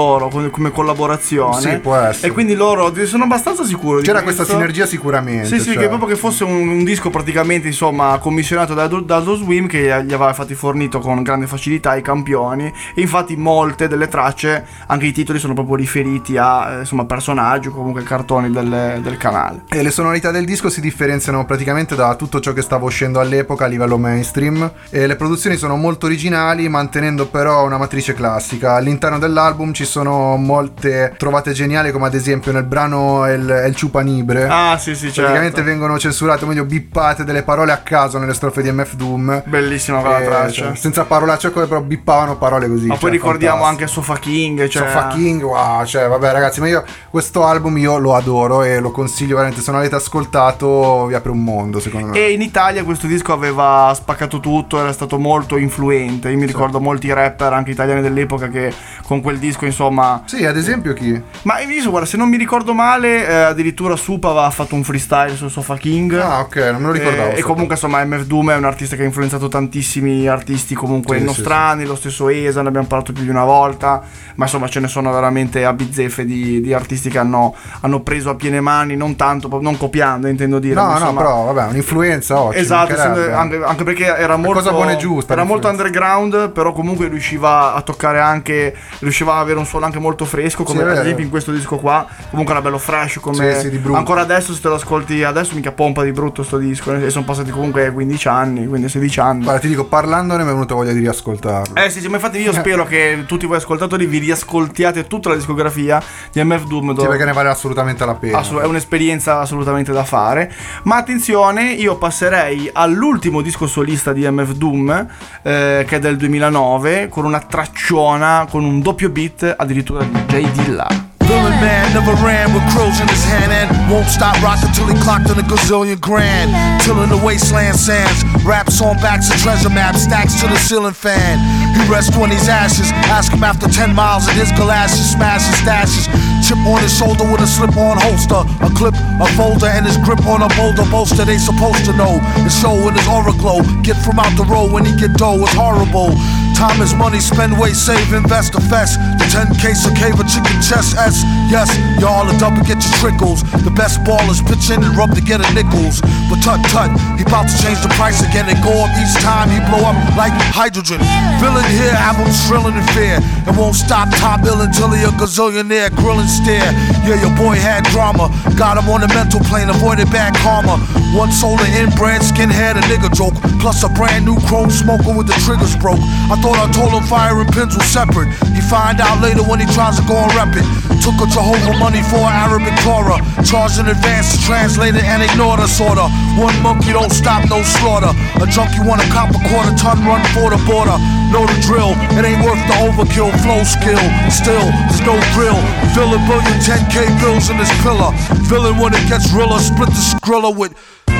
loro come collaborazione. Sì, può essere. E quindi loro sono abbastanza sicuro c'era di questa sinergia sicuramente. Sì, cioè. che proprio che fosse un disco praticamente, insomma, commissionato da Adult Swim, che gli aveva infatti fornito con grande facilità i campioni. E infatti molte delle tracce, anche i titoli, sono proprio riferiti a insomma personaggi o comunque cartoni del canale. E le sonorità del disco si differenziano praticamente da tutto ciò che stava uscendo all'epoca a livello mainstream, e le produzioni sono molto originali, mantenendo però una matrice classica. All'interno dell'album ci sono molte trovate geniali, come ad esempio nel brano El Chupanibre. Ah sì, praticamente certo. vengono censurate, o meglio bippate delle parole a caso nelle strofe di MF Doom. Bellissima quella traccia, cioè, senza parolacce, però bippavano parole così. Ma poi ricordiamo anche Sofa King, cioè... Sofa King, wow, cioè vabbè ragazzi, ma io questo album io lo adoro e lo consiglio veramente. Se non l'avete ascoltato vi apre un mondo, secondo me. E in Italia questo disco aveva spaccato tutto, era stato molto influente. Io mi ricordo molti rapper anche italiani dell'epoca che con quel disco, insomma... Sì, ad esempio chi? Ma io guarda, se non mi ricordo male, addirittura Supa aveva fatto un freestyle su Sofa King. Ah, ok, non me lo ricordavo. E comunque insomma MF Doom è un artista che ha influenzato tantissimi artisti comunque nostrani, lo stesso Esa, ne abbiamo parlato più di una volta, ma insomma ce ne sono veramente a bizzeffe di artisti che hanno preso a piene mani, non tanto, non copiando, intendo dire. No, insomma, però vabbè, un'influenza oggi. Esatto, anche perché era molto, cosa buona e giusta, era molto underground, però comunque riusciva a toccare anche, riusciva ad avere un suono anche molto fresco, come ad esempio in questo disco qua, comunque era bello fresh, come di brutto. Ancora adesso se te lo ascolti adesso mica pompa di brutto sto disco, e sono passati comunque 15 anni, quindi 16 anni. Guarda, ti dico, parlandone mi è venuta voglia di riascoltarlo. Sì, ma infatti io spero che tutti voi ascoltatori vi riascoltiate tutta la discografia di MF Doom. Sì, perché ne vale assolutamente la pena. È un'esperienza assolutamente da fare. Ma attenzione, io passerei all'ultimo disco solista di MF Doom, che è del 2009, con una tracciona, con un doppio beat addirittura di J Dilla. Villain man never ran with crows in his hand and won't stop rocking till he clocked in a gazillion grand. Tilling the wasteland sands, raps on backs of treasure maps, stacks to the ceiling fan. He rests when he's ashes, ask him after 10 miles in his galoshes, smashes stashes. Chip on his shoulder with a slip-on holster, a clip, a folder, and his grip on a boulder bolster. They supposed to know his show in his aura glow. Get from out the road when he get dough, it's horrible. Time is money, spend, wait, save, invest, a fest. The 10K so cave a chicken chest S. Yes, y'all are double, get your trickles. The best ballers pitch in and rub to get a nickels. But tut, he bout to change the price again and go up each time he blow up like hydrogen. Villain here, album shrilling in fear. And won't stop top ill until he a gazillionaire, grill and stare. Yeah, your boy had drama, got him on the mental plane, avoided bad karma. One solar inbred skinhead, a nigga joke. Plus a brand new chrome smoker with the triggers broke. I thought I told him fire and pins were separate. He find out later when he tries to go and rep it. Took a Jehovah money for Arabic Torah. Charged in advance to translate it and ignore the sorta. One monkey don't stop, no slaughter. A junkie want a cop a quarter ton, run for the border. Know the drill, it ain't worth the overkill. Flow skill, still, there's no thrill. Fill a billion 10K bills in this pillar. Villain when it gets realer, split the skrilla with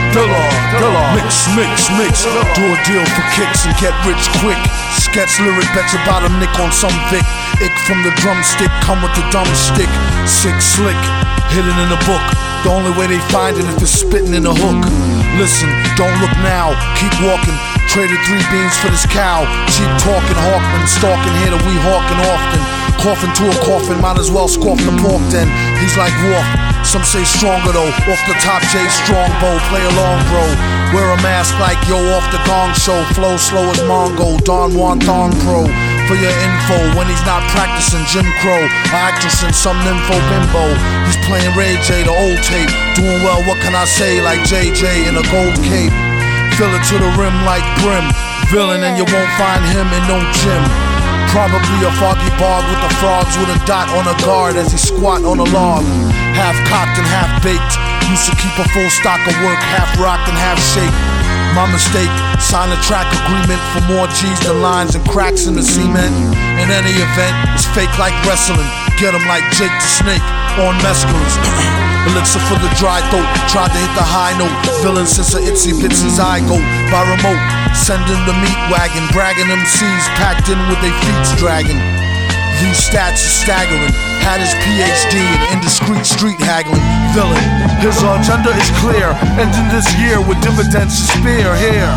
Dilla. Mix. Do a deal for kicks and get rich quick. Sketch lyric, bet your bottom nick on some Vic. Ick from the drumstick, come with the dumb stick. Sick, slick, hidden in the book. The only way they find it if it's spitting in a hook. Listen, don't look now, keep walking. Traded 3 beans for this cow. Cheap talking, Hawkman, stalking here that we hawking often. Coughing to a coffin, might as well scoff the pork then. He's like Wolf, some say stronger though. Off the top, J Strongbow, play along bro. Wear a mask like yo off the Gong Show. Flow slow as Mongo, Don Juan Thong Pro. For your info, when he's not practicing Jim Crow, an actress in some nympho bimbo. He's playing Ray J, the old tape. Doing well, what can I say, like JJ in a gold cape. Fill it to the rim like brim. Villain and you won't find him in no gym. Probably a foggy bog with the frogs with a dot on a guard as he squat on a log. Half cocked and half baked. Used to keep a full stock of work, half rocked and half shaped. My mistake, sign a track agreement for more G's than lines and cracks in the cement. In any event, it's fake like wrestling. Get him like Jake the Snake on mescalines. Elixir for the dry throat, tried to hit the high note. Villain since a itsy bitsy zygote by remote. Sending the meat wagon, bragging MCs packed in with their feet dragging. These stats are staggering. Had his PhD in indiscreet street haggling. Villain, his agenda is clear. Ending this year with dividends to spare here.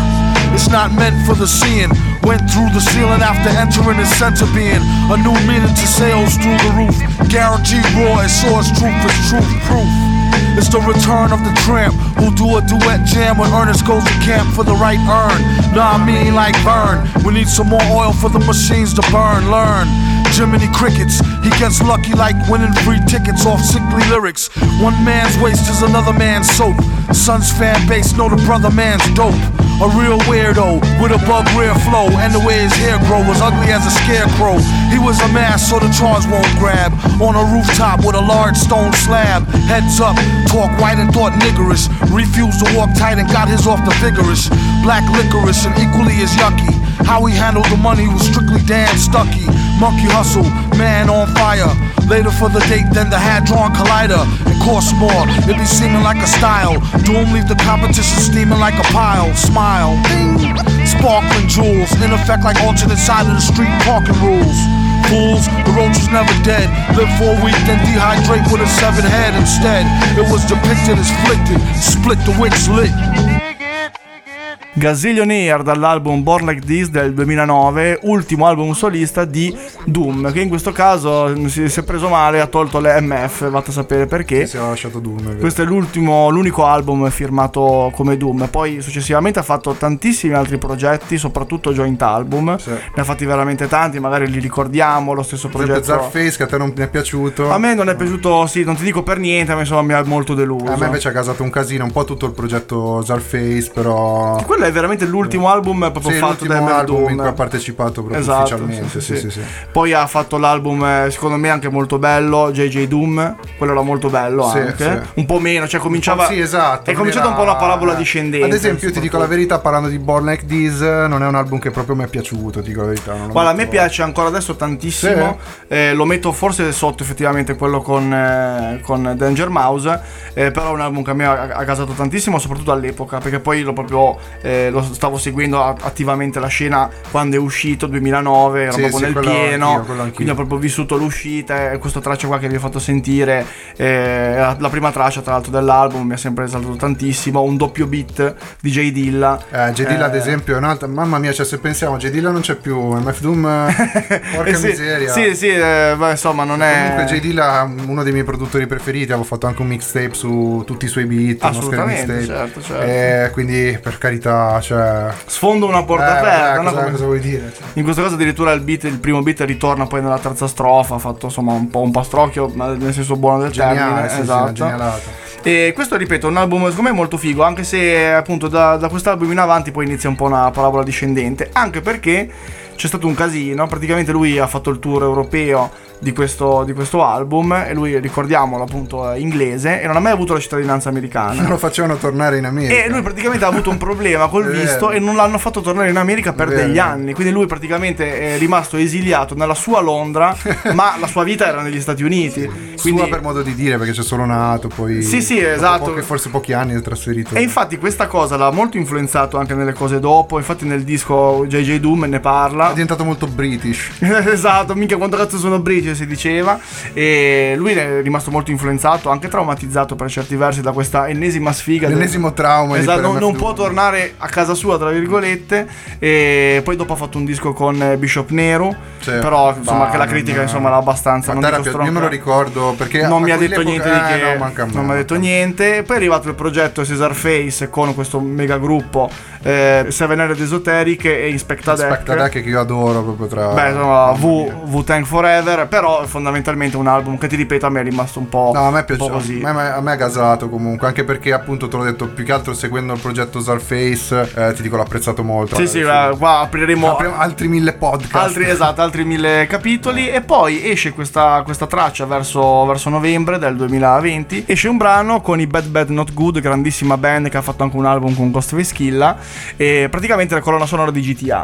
It's not meant for the seeing. Went through the ceiling after entering the center being. A new meaning to sales through the roof. Guaranteed raw as source truth is truth proof. It's the return of the tramp who do a duet jam when Ernest goes to camp for the right earn. Nah, I mean like Vern. We need some more oil for the machines to burn. Learn. Jiminy Crickets, he gets lucky like winning free tickets off sickly lyrics. One man's waste is another man's soap. Son's fan base know the brother man's dope. A real weirdo with a bug rear flow, and the way his hair grow was ugly as a scarecrow. He was a mass so the charge won't grab. On a rooftop with a large stone slab. Heads up, talk white and thought niggerish. Refused to walk tight and got his off the vigorous. Black licorice and equally as yucky. How he handled the money was strictly damn stucky. Monkey hustle, man on fire. Later for the date than the Hadron Collider. It costs more, it be seeming like a style. Doom leave the competition steaming like a pile. Smile, ding. Sparkling jewels, in effect like alternate side of the street parking rules. Fools, the roach was never dead. Live for a week, then dehydrate with a severed head instead. It was depicted as flicked, split the wicks lit. Gazillionaire dall'album Born Like This del 2009, ultimo album solista di Doom, che in questo caso si è preso male, ha tolto le MF, vado a sapere perché. Si è lasciato Doom. Questo è l'unico album firmato come Doom. Poi successivamente ha fatto tantissimi altri progetti, soprattutto joint album. Sì. Ne ha fatti veramente tanti, magari li ricordiamo. Lo stesso progetto Zarface, che a te non mi è piaciuto. A me non è piaciuto, sì, non ti dico per niente, ma insomma mi ha molto deluso. A me invece ha casato un casino, un po' tutto il progetto Zarface, però quello è veramente l'ultimo album proprio fatto da MF album Doom, in cui ha partecipato proprio esatto, ufficialmente. Sì. Poi ha fatto l'album secondo me anche molto bello, JJ Doom, quello era molto bello anche. Un po' meno, cioè cominciava. Sì, esatto. È cominciato un po' una parabola discendente. Ad esempio, io ti dico la verità, parlando di Born Like This, non è un album che proprio mi è piato, ti dico la verità. Guarda, a me piace ancora adesso tantissimo. Sì. Lo metto forse sotto effettivamente quello con Danger Mouse, però è un album che a me ha casato tantissimo, soprattutto all'epoca, perché poi lo stavo seguendo attivamente la scena quando è uscito 2009, ero proprio nel pieno, quindi ho proprio vissuto l'uscita, e questa traccia qua che vi ho fatto sentire la prima traccia tra l'altro dell'album, mi ha sempre esaltato tantissimo. Un doppio beat di J Dilla, J Dilla ad esempio è un'altra, mamma mia, cioè se pensiamo J Dilla non c'è più, MF Doom porca miseria. Sì, insomma non è. Comunque J Dilla è uno dei miei produttori preferiti, avevo fatto anche un mixtape su tutti i suoi beat, assolutamente, certo. Quindi per carità, cioè sfondo una porta aperta. Cosa vuoi dire? In questo caso addirittura il primo beat ritorna poi nella terza strofa, ha fatto insomma un po' un pastrocchio, ma nel senso buono del termine. Esatto. E questo, ripeto, è un album secondo me molto figo, anche se appunto da quest'album in avanti poi inizia un po' una parabola discendente, anche perché c'è stato un casino. Praticamente lui ha fatto il tour europeo di questo album, e lui, ricordiamolo, appunto è inglese e non ha mai avuto la cittadinanza americana. Non lo facevano tornare in America, e lui praticamente ha avuto un problema col visto e non l'hanno fatto tornare in America per degli anni, quindi lui praticamente è rimasto esiliato nella sua Londra ma la sua vita era negli Stati Uniti, quindi sua per modo di dire, perché c'è solo nato, poi sì esatto, forse pochi anni è trasferito, e infatti questa cosa l'ha molto influenzato anche nelle cose dopo. Infatti nel disco JJ Doom ne parla, è diventato molto British. Esatto, minchia quanto cazzo sono British, si diceva. E lui è rimasto molto influenzato, anche traumatizzato per certi versi da questa ennesima sfiga, l'ennesimo trauma. Esatto, non può tornare a casa sua, tra virgolette. E poi dopo ha fatto un disco con Bishop Nehru, però insomma che la critica insomma l'ha abbastanza, non dico io me lo ricordo perché non mi ha detto niente di che, non mi ha detto niente. Poi è arrivato il progetto Cesar Face con questo mega gruppo Seven Headed Esoteric e Inspecta Deck, che io adoro proprio tra insomma Wu-Tang Forever. Però fondamentalmente un album che, ti ripeto, a me è rimasto un po', a me piace, così. A me ha gasato comunque, anche perché appunto te l'ho detto, più che altro seguendo il progetto Zarface, ti dico, l'ho apprezzato molto. Sì, qua apriremo altri 1000 podcast, altri 1000 capitoli. E poi esce questa traccia verso novembre del 2020, esce un brano con i Bad Not Good, grandissima band che ha fatto anche un album con Ghostface Killah, e praticamente la colonna sonora di GTA.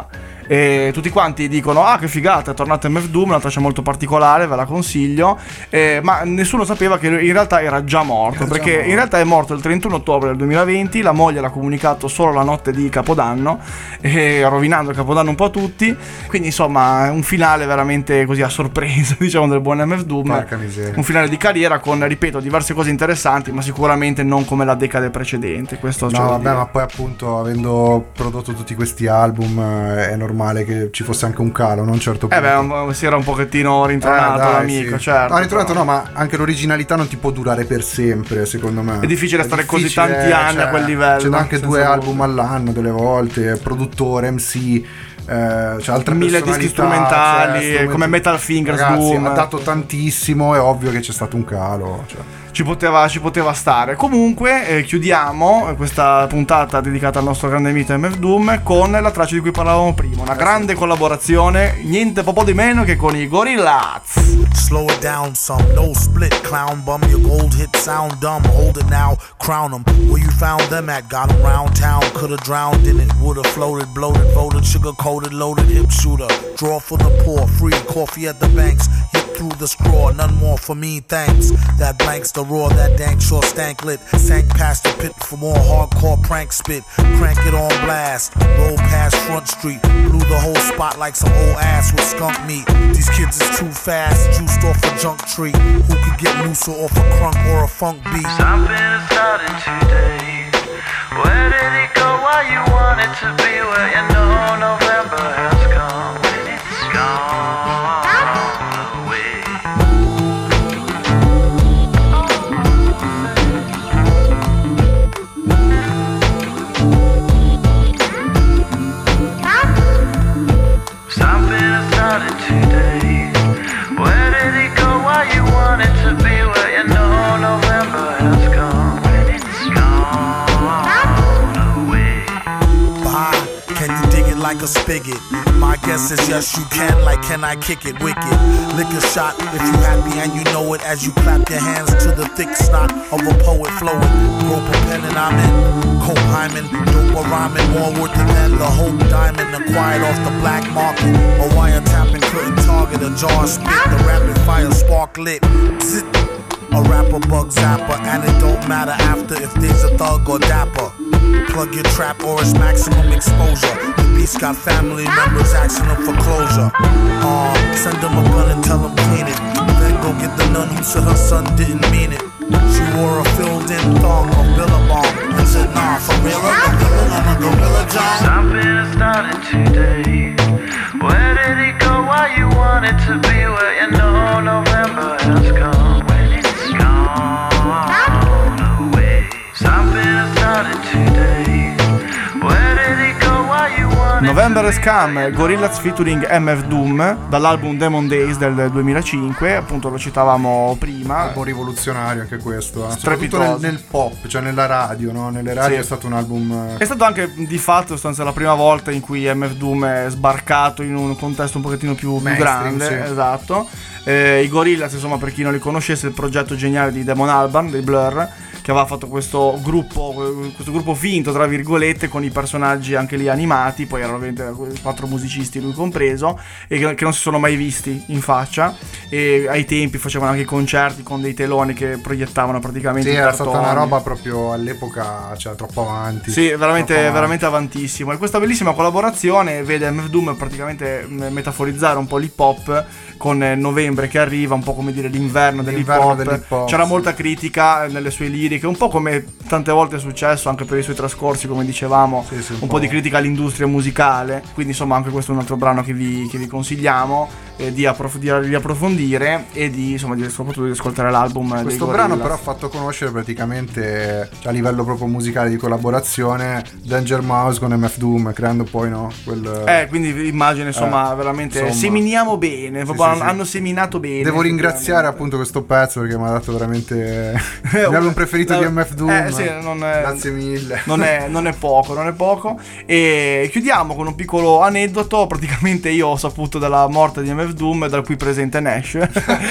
e tutti quanti dicono ah che figata, è tornato MF Doom, una traccia molto particolare, ve la consiglio, ma nessuno sapeva che in realtà era già morto, perché in realtà è morto il 31 ottobre del 2020, la moglie l'ha comunicato solo la notte di Capodanno, rovinando il Capodanno un po' a tutti, quindi insomma un finale veramente così a sorpresa diciamo del buon MF Doom, un finale di carriera con, ripeto, diverse cose interessanti, ma sicuramente non come la decade precedente. Questo no vabbè, ma poi appunto avendo prodotto tutti questi album è normale che ci fosse anche un calo, non certo punto. Si era un pochettino rintronato l'amico, sì. certo. No, rintronato no, ma anche l'originalità non ti può durare per sempre, secondo me. È difficile stare così tanti anni a quel livello. C'è anche 2 album all'anno delle volte, produttore, MC, c'è altre 1000 dischi strumentali, come Metal Fingers. Ragazzi, Doom ha dato tantissimo, è ovvio che c'è stato un calo, ci poteva stare. Comunque chiudiamo questa puntata dedicata al nostro grande mito MF Doom con la traccia di cui parlavamo prima, una grande collaborazione, niente po' di meno che con i Gorillaz. Slow it down some, no split, clown bum, your gold hit sound dumb, hold it now, crown them, where you found them at, got them round town, could've drowned in it, would've floated, bloated, voted, sugar coated, loaded, hip shooter, draw for the poor, free, coffee at the banks, hit through the straw, none more for me, thanks, that blanks the raw, that dank sure stank lit, sank past the pit for more hardcore prank spit, crank it on blast, roll past Front Street, blew the whole spot like some old ass with skunk meat, these kids is too fast, juiced off a junk tree, who could get looser off a crunk or a funk beat? Something is starting today, where did it go, why you want it to be, where you know November has come, when it's gone. Today, where did it go? Why you want it to be where you know November has gone, when it's gone away. Bye. Can you dig it like a spigot? My guess is yes you can, like can I kick it wicked? Lick a shot if you happy and you know it, as you clap your hands to the thick snot of a poet flowing. Rope a pen and I'm in, coke hymen, dope a rhyming, more worth than the hope diamond, acquired off the black market. A wiretapping couldn't target a jar spit, the rapid fire spark lit. Zit. A rapper bug zapper, and it don't matter after if there's a thug or dapper. Plug your trap or it's maximum exposure. The beast got family members asking him for closure. Send him a gun and tell him clean it. Then go get the nun who said her son didn't mean it. She wore a filled-in thong of Billabong and said, nah, for real, I'm a gorilla John. Something is starting today. Where did it go? Why you want it to be where you know November has come, when it's gone away. Something is starting today. Where did it go? Why you want it November has come, Gorillaz featuring MF Doom, dall'album Demon Days del 2005, appunto lo citavamo prima. Un po' rivoluzionario anche questo, soprattutto nel pop, cioè nella radio, no? Nelle radio sì. È stato un album. È stato anche di fatto la prima volta in cui MF Doom è sbarcato in un contesto un pochettino più grande, sì. Esatto. I Gorillaz, insomma, per chi non li conoscesse, il progetto geniale di Damon Albarn dei Blur, che aveva fatto questo gruppo finto tra virgolette con i personaggi anche lì animati, poi erano 4 musicisti lui compreso, e che non si sono mai visti in faccia, e ai tempi facevano anche concerti con dei teloni che proiettavano praticamente sì, i era cartoni. stata una roba proprio all'epoca, cioè troppo avanti. Sì, veramente avantissimo, e questa bellissima collaborazione vede MF Doom praticamente metaforizzare un po' l'hip hop con novembre che arriva, un po' come dire l'inverno dell'hip hop. C'era molta critica nelle sue liriche, un po' come tante volte è successo anche per i suoi trascorsi, come dicevamo, sì, un po' di critica all'industria musicale, quindi insomma anche questo è un altro brano che vi consigliamo di approfondire e soprattutto di ascoltare l'album. Questo brano però ha fatto conoscere praticamente, cioè, a livello proprio musicale di collaborazione, Danger Mouse con MF Doom, creando poi quindi immagine veramente seminiamo bene, proprio hanno seminato bene. Devo ringraziare appunto questo pezzo perché mi ha dato veramente il mio album preferito di MF Doom. Grazie mille. Non è poco. E chiudiamo con un piccolo aneddoto. Praticamente io ho saputo della morte di MF MF Doom, dal cui presente Nash.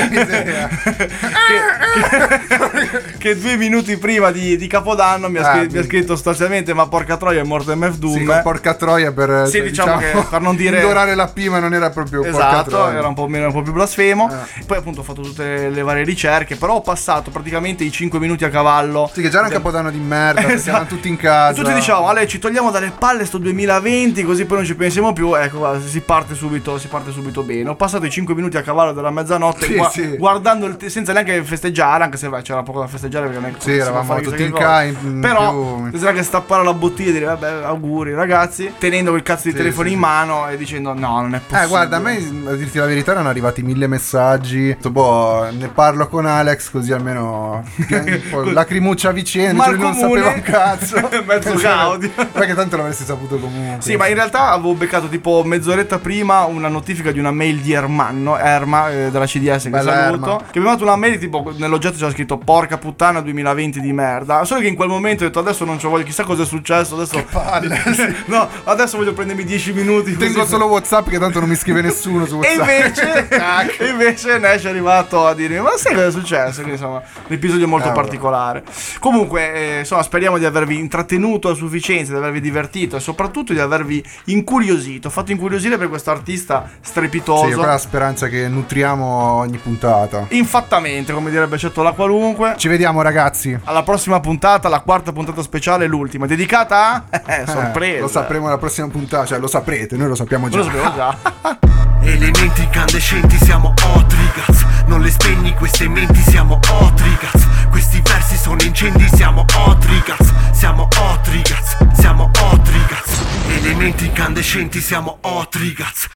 che 2 minuti prima di Capodanno mi ha scritto sostanzialmente: ma porca troia, è morto MF Doom. Sì, porca troia per, sì, diciamo che per non dire indorare la P, ma non era proprio porca esatto, troia. era un po' più blasfemo. Poi appunto ho fatto tutte le varie ricerche, però ho passato praticamente i 5 minuti a cavallo. Sì, che già era un Capodanno di merda, perché esatto. erano tutti in casa. Tutti diciamo: Ale, ci togliamo dalle palle sto 2020, così poi non ci pensiamo più. Ecco, guarda, si parte subito bene. Ho passato i 5 minuti a cavallo della mezzanotte, guardando senza neanche festeggiare, anche se c'era poco da festeggiare perché sì, eravamo tutti in casa. Però bisogna che stappare la bottiglia e dire vabbè, auguri ragazzi, tenendo quel cazzo di telefono in mano e dicendo no, non è possibile. Guarda, a me, a dirti la verità, erano arrivati 1000 messaggi. Boh, ne parlo con Alex, così almeno lacrimuccia a vicenda, non sapeva un cazzo. Mezzo Gaudi. Perché tanto l'avresti saputo comunque. Sì, ma in realtà avevo beccato tipo mezz'oretta prima una notifica di una mail di Erma della CDS, che bella saluto, Erma. che mi ha dato una mail tipo nell'oggetto c'era scritto porca puttana 2020 di merda. Solo che in quel momento ho detto adesso non ci voglio, chissà cosa è successo adesso. Che palle. No, adesso voglio prendermi 10 minuti. Tengo solo WhatsApp, che tanto non mi scrive nessuno su WhatsApp. E invece Nash è arrivato a dirmi ma sai cosa è successo? Quindi insomma un episodio molto particolare. Comunque insomma speriamo di avervi intrattenuto a sufficienza, di avervi divertito e soprattutto di avervi incuriosito, fatto incuriosire per questo artista strepitoso. Sì, quella è la speranza che nutriamo ogni puntata. Infattamente, come direbbe Cetto la Qualunque. Ci vediamo ragazzi. Alla prossima puntata, la quarta puntata speciale, l'ultima, dedicata a sorpresa. Lo sapremo alla prossima puntata, cioè lo saprete, noi lo sappiamo già. Lo sappiamo già. Elementi incandescenti, siamo Otrigaz. Non le spegni queste menti, siamo Otrigaz. Questi versi sono incendi, siamo Otrigaz. Siamo Otrigaz, siamo Otrigaz. Elementi incandescenti, siamo Otrigaz.